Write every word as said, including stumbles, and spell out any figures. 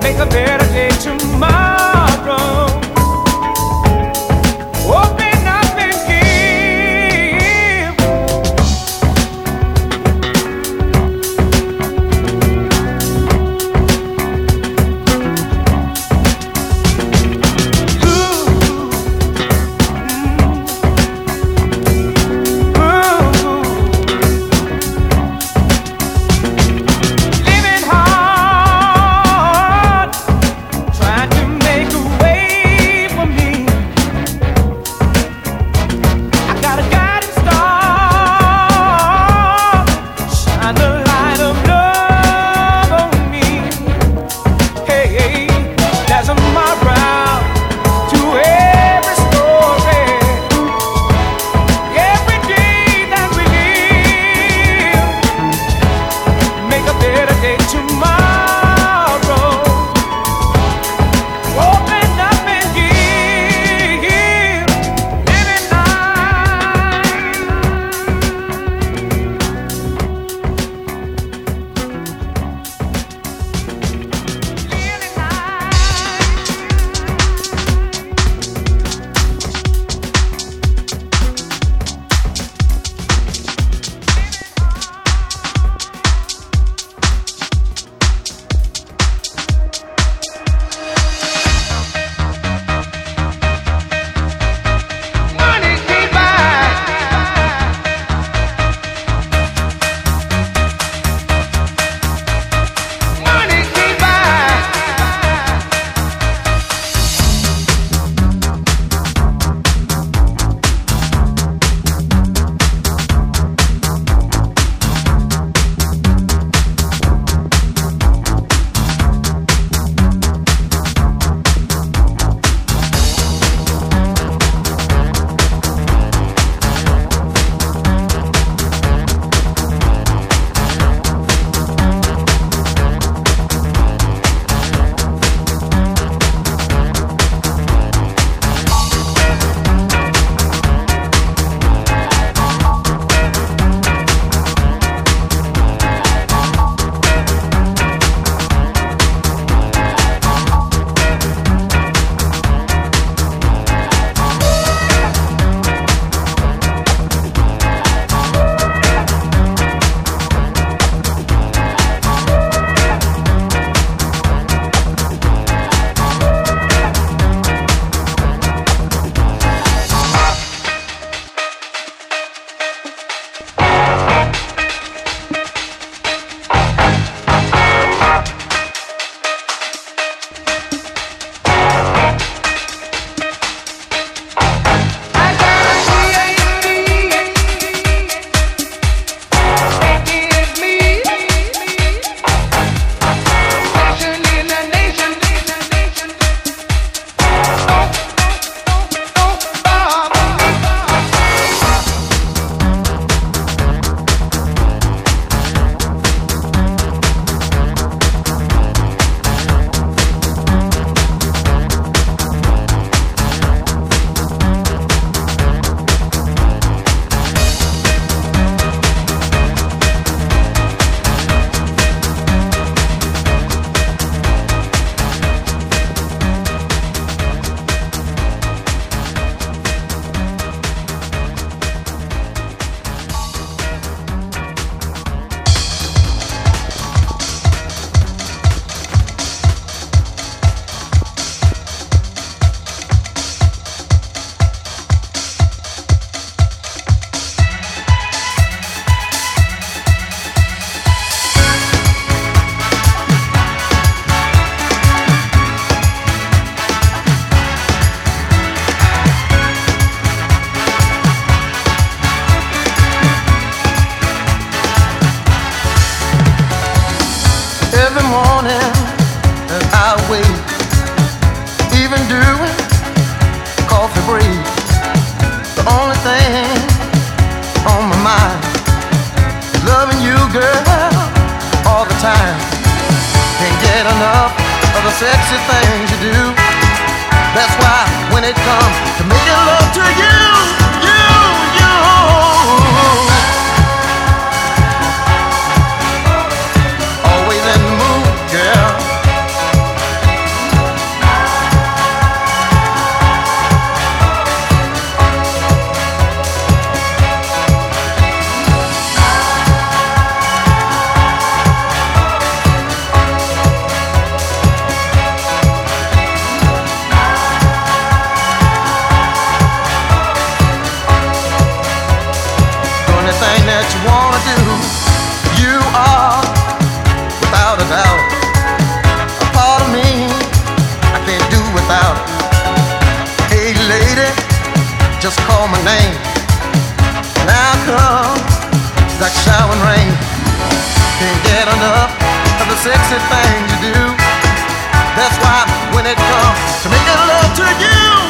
make a better day tomorrow. Open up and give. Ooh, mm, ooh. Living hard, trying to make a way for me. I got a guiding star, shine the light of love on me. Hey, hey, there's a moral to every story. Every day that we live, make a better day tomorrow. Open up and give. Living life. Living Money can't buy. Money can't buy. I got a P H D. It is me. Nation in the nation. Don't, don't bother me. Every morning as I wake, even during coffee break, the only thing on my mind is loving you, girl, all the time. Can't get enough of the sexy things you do. That's why when it comes to making love to you, you, you, always in the mood, girl. call my name. Now come like showering rain. Can't get enough of the sexy things you do. That's why when it comes to making love to you,